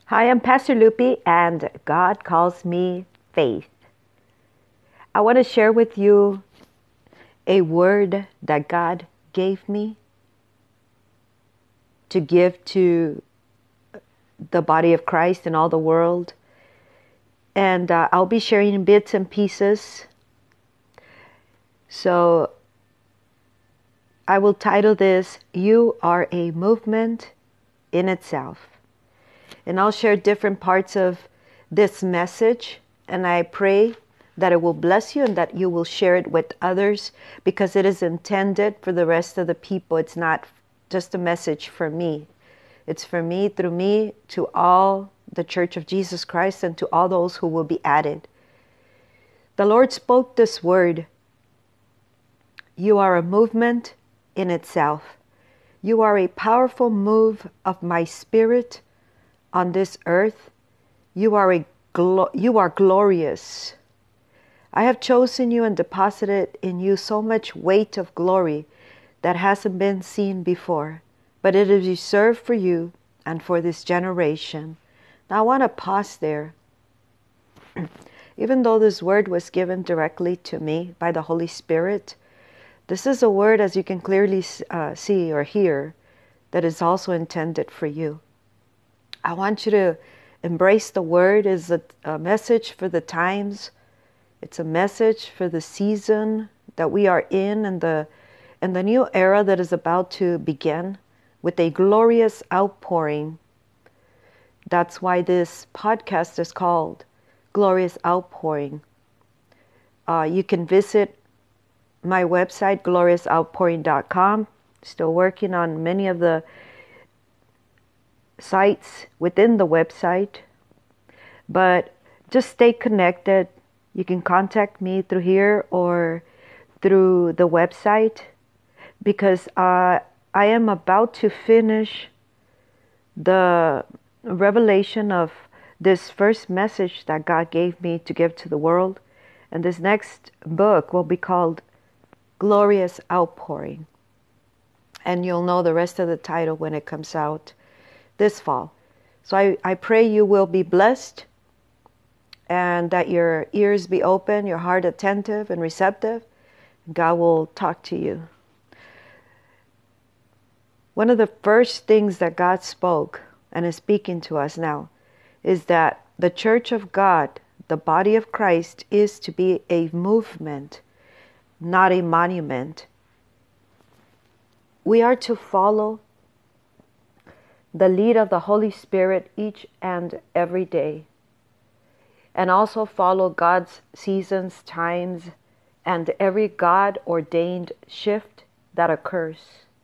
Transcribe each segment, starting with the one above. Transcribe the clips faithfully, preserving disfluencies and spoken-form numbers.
Hi, I'm Pastor Lupi, and God calls me Faith. I want to share with you a word that God gave me to give to the body of Christ in all the world. And uh, I'll be sharing bits and pieces. So I will title this, You Are a Movement in Itself. And I'll share different parts of this message, and I pray that it will bless you and that you will share it with others, because it is intended for the rest of the people. It's not just a message for me. It's for me, through me, to all the Church of Jesus Christ and to all those who will be added. The Lord spoke this word. You are a movement in itself. You are a powerful move of my spirit on this earth. You are a glo- you are glorious. I have chosen you and deposited in you so much weight of glory that hasn't been seen before, but it is reserved for you and for this generation. Now I want to pause there. Even though this word was given directly to me by the Holy Spirit, this is a word, as you can clearly uh, see or hear, that is also intended for you. I want you to embrace the word as a, a message for the times. It's a message for the season that we are in, and the and the new era that is about to begin with a glorious outpouring. That's why this podcast is called Glorious Outpouring. Uh, you can visit my website, glorious outpouring dot com. Still working on many of the sites within the website, but just stay connected. You can contact me through here or through the website, because uh, I am about to finish the revelation of this first message that God gave me to give to the world, and this next book will be called Glorious Outpouring, and you'll know the rest of the title when it comes out this fall. So I, I pray you will be blessed, and that your ears be open, your heart attentive and receptive. God will talk to you. One of the first things that God spoke and is speaking to us now is that the Church of God, the body of Christ, is to be a movement, not a monument. We are to follow the lead of the Holy Spirit each and every day, and also follow God's seasons, times, and every God-ordained shift that occurs.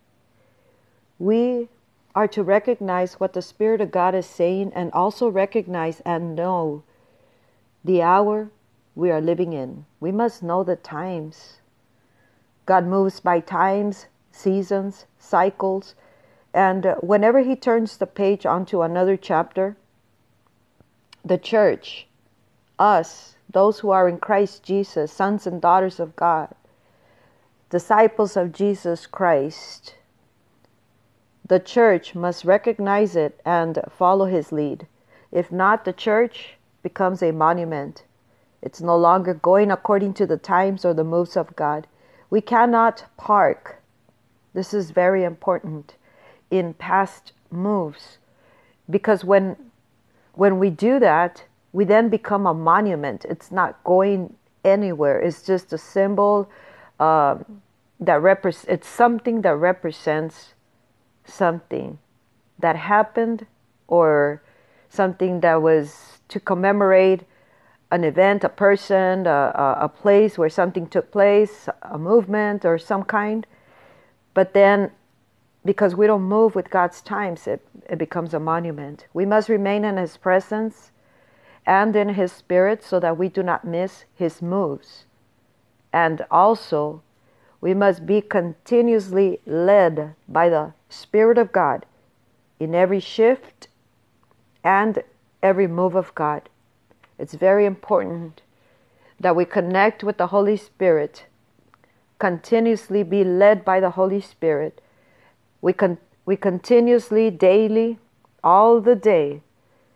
We are to recognize what the Spirit of God is saying, and also recognize and know the hour we are living in. We must know the times. God moves by times, seasons, cycles, and whenever He turns the page onto another chapter, the church, us, those who are in Christ Jesus, sons and daughters of God, disciples of Jesus Christ, the church must recognize it and follow His lead. If not, the church becomes a monument. It's no longer going according to the times or the moves of God. We cannot park. This is very important in past moves, because when when we do that, we then become a monument. It's not going anywhere. It's just a symbol uh, that represents. It's something that represents something that happened, or something that was to commemorate an event, a person, a, a, a place where something took place, a movement or some kind. But then, because we don't move with God's times, it, it becomes a monument. We must remain in His presence and in His Spirit so that we do not miss His moves. And also, we must be continuously led by the Spirit of God in every shift and every move of God. It's very important that we connect with the Holy Spirit, continuously be led by the Holy Spirit. We con- we continuously, daily, all the day,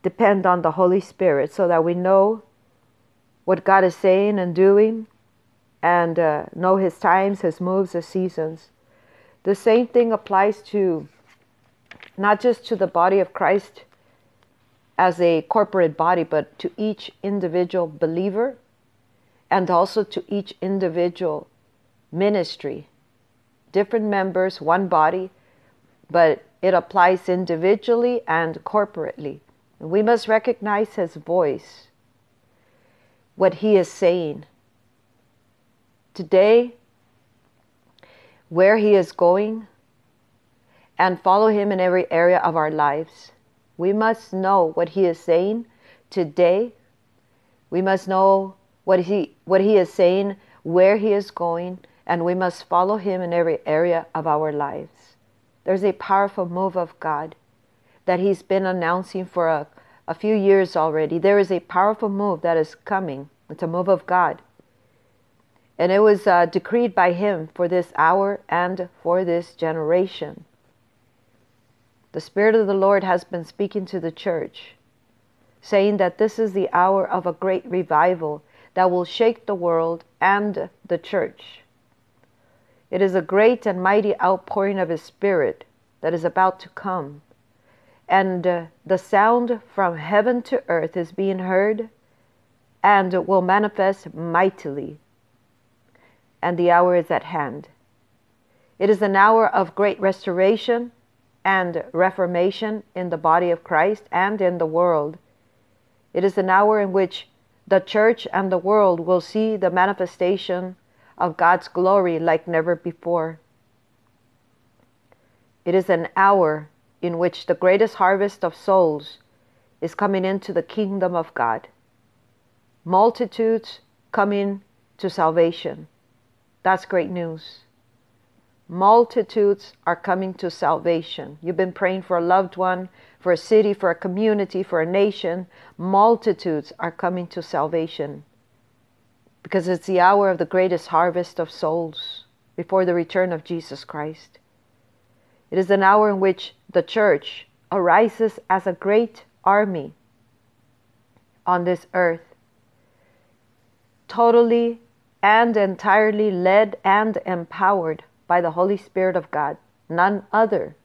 depend on the Holy Spirit so that we know what God is saying and doing, and uh, know His times, His moves, His seasons. The same thing applies to not just to the body of Christ as a corporate body, but to each individual believer and also to each individual ministry. Different members, one body, but it applies individually and corporately. We must recognize His voice, what He is saying today, where He is going, and follow Him in every area of our lives. We must know what He is saying today. We must know what He what He is saying, where He is going, and we must follow Him in every area of our lives. There's a powerful move of God that He's been announcing for a, a few years already. There is a powerful move that is coming. It's a move of God. And it was uh, decreed by Him for this hour and for this generation. The Spirit of the Lord has been speaking to the church, saying that this is the hour of a great revival that will shake the world and the church. It is a great and mighty outpouring of His Spirit that is about to come. And uh, the sound from heaven to earth is being heard and will manifest mightily. And the hour is at hand. It is an hour of great restoration and reformation in the body of Christ and in the world. It is an hour in which the church and the world will see the manifestation of God's glory like never before. It is an hour in which the greatest harvest of souls is coming into the kingdom of God. Multitudes coming to salvation. That's great news. Multitudes are coming to salvation. You've been praying for a loved one, for a city, for a community, for a nation. Multitudes are coming to salvation because it's the hour of the greatest harvest of souls before the return of Jesus Christ. It is an hour in which the church arises as a great army on this earth, totally and entirely led and empowered by the Holy Spirit of God, none other.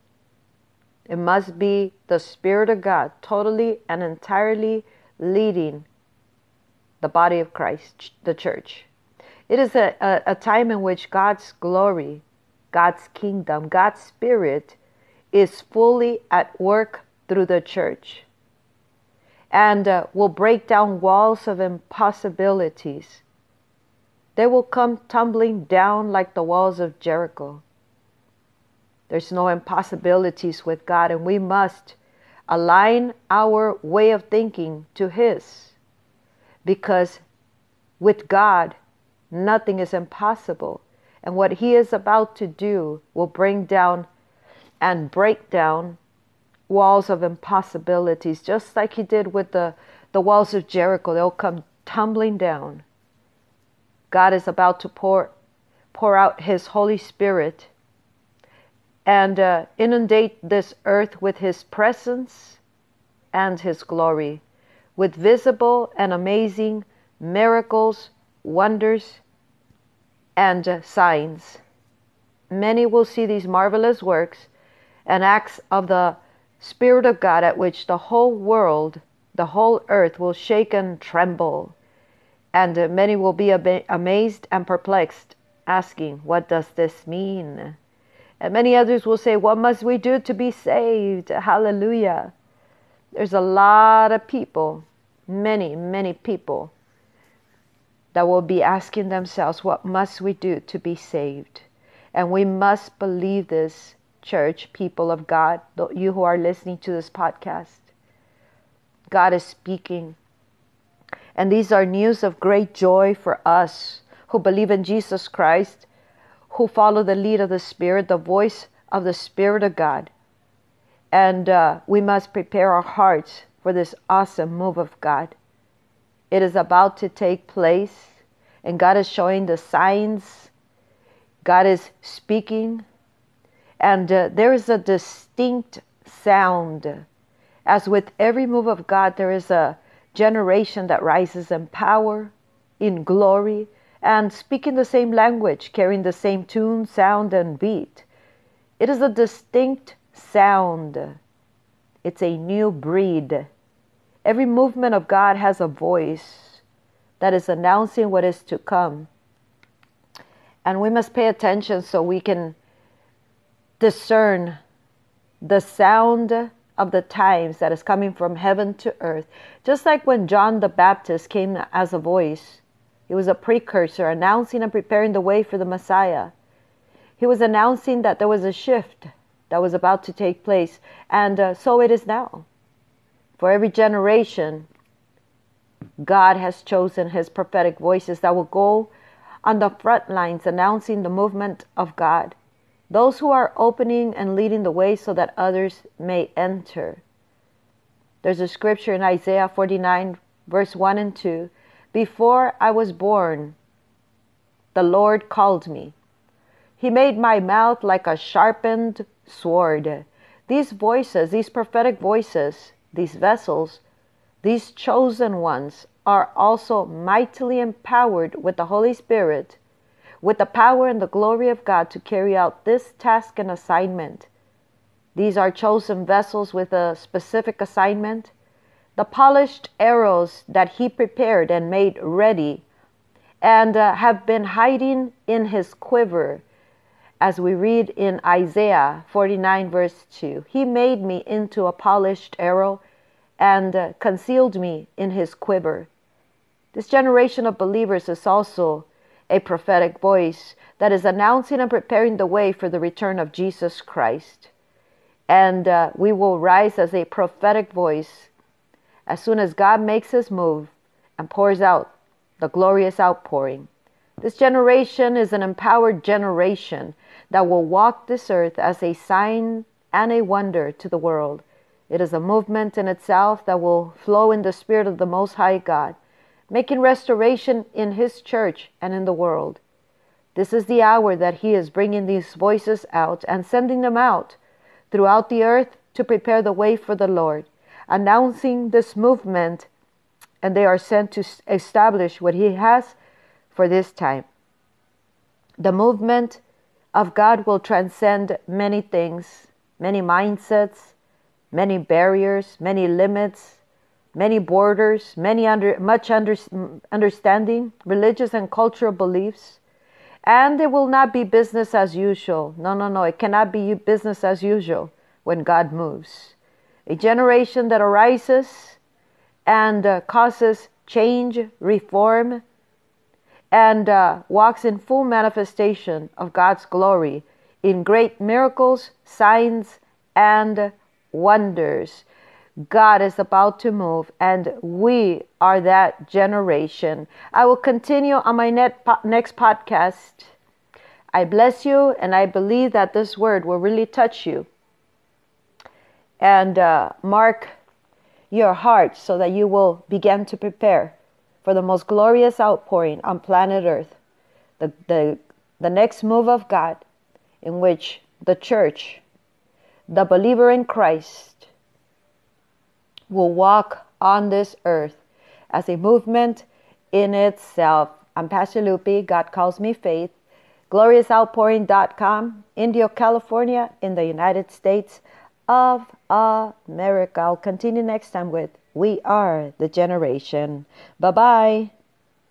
It must be the Spirit of God totally and entirely leading the body of Christ, the church. It is a, a, a time in which God's glory, God's kingdom, God's Spirit is fully at work through the church and uh, will break down walls of impossibilities. They will come tumbling down like the walls of Jericho. There's no impossibilities with God, and we must align our way of thinking to His, because with God, nothing is impossible. And what He is about to do will bring down and break down walls of impossibilities, just like He did with the, the walls of Jericho. They'll come tumbling down. God is about to pour, pour out His Holy Spirit and uh, inundate this earth with His presence and His glory, with visible and amazing miracles, wonders, and uh, signs. Many will see these marvelous works and acts of the Spirit of God, at which the whole world, the whole earth will shake and tremble. And uh, many will be ab- amazed and perplexed, asking, what does this mean? And many others will say, what must we do to be saved? Hallelujah. There's a lot of people, many, many people, that will be asking themselves, what must we do to be saved? And we must believe this, church, people of God, you who are listening to this podcast. God is speaking. And these are news of great joy for us who believe in Jesus Christ, who follow the lead of the Spirit, the voice of the Spirit of God. And uh, we must prepare our hearts for this awesome move of God. It is about to take place, and God is showing the signs. God is speaking, and uh, there is a distinct sound As with every move of God, there is a generation that rises in power, in glory, and speaking the same language, carrying the same tune, sound, and beat. It is a distinct sound. It's a new breed. Every movement of God has a voice that is announcing what is to come. And we must pay attention so we can discern the sound of the times that is coming from heaven to earth. Just like when John the Baptist came as a voice, he was a precursor, announcing and preparing the way for the Messiah. He was announcing that there was a shift that was about to take place, and uh, so it is now. For every generation, God has chosen his prophetic voices that will go on the front lines announcing the movement of God. Those who are opening and leading the way so that others may enter. There's a scripture in Isaiah forty-nine, verse one and two. Before I was born, the Lord called me. He made my mouth like a sharpened sword. These voices, these prophetic voices, these vessels, these chosen ones are also mightily empowered with the Holy Spirit, with the power and the glory of God to carry out this task and assignment. These are chosen vessels with a specific assignment. The polished arrows that he prepared and made ready and uh, have been hiding in his quiver. As we read in Isaiah forty-nine, verse two, he made me into a polished arrow and uh, concealed me in his quiver. This generation of believers is also a prophetic voice that is announcing and preparing the way for the return of Jesus Christ. And uh, we will rise as a prophetic voice as soon as God makes his move and pours out the glorious outpouring. This generation is an empowered generation that will walk this earth as a sign and a wonder to the world. It is a movement in itself that will flow in the Spirit of the Most High God, making restoration in his church and in the world. This is the hour that he is bringing these voices out and sending them out throughout the earth to prepare the way for the Lord, announcing this movement, and they are sent to establish what he has for this time. The movement of God will transcend many things, many mindsets, many barriers, many limits, many borders, many under, much under, understanding, religious and cultural beliefs. And it will not be business as usual. No, no, no. It cannot be business as usual when God moves. A generation that arises and uh, causes change, reform, and uh, walks in full manifestation of God's glory in great miracles, signs, and wonders. God is about to move, and we are that generation. I will continue on my net po- next podcast. I bless you, and I believe that this word will really touch you and uh, mark your heart so that you will begin to prepare for the most glorious outpouring on planet Earth, the, the, the next move of God, in which the church, the believer in Christ, will walk on this earth as a movement in itself. I'm Pastor Lupe. God calls me Faith. glorious outpouring dot com, Indio, California, in the United States of America. I'll continue next time with We Are the Generation. Bye-bye.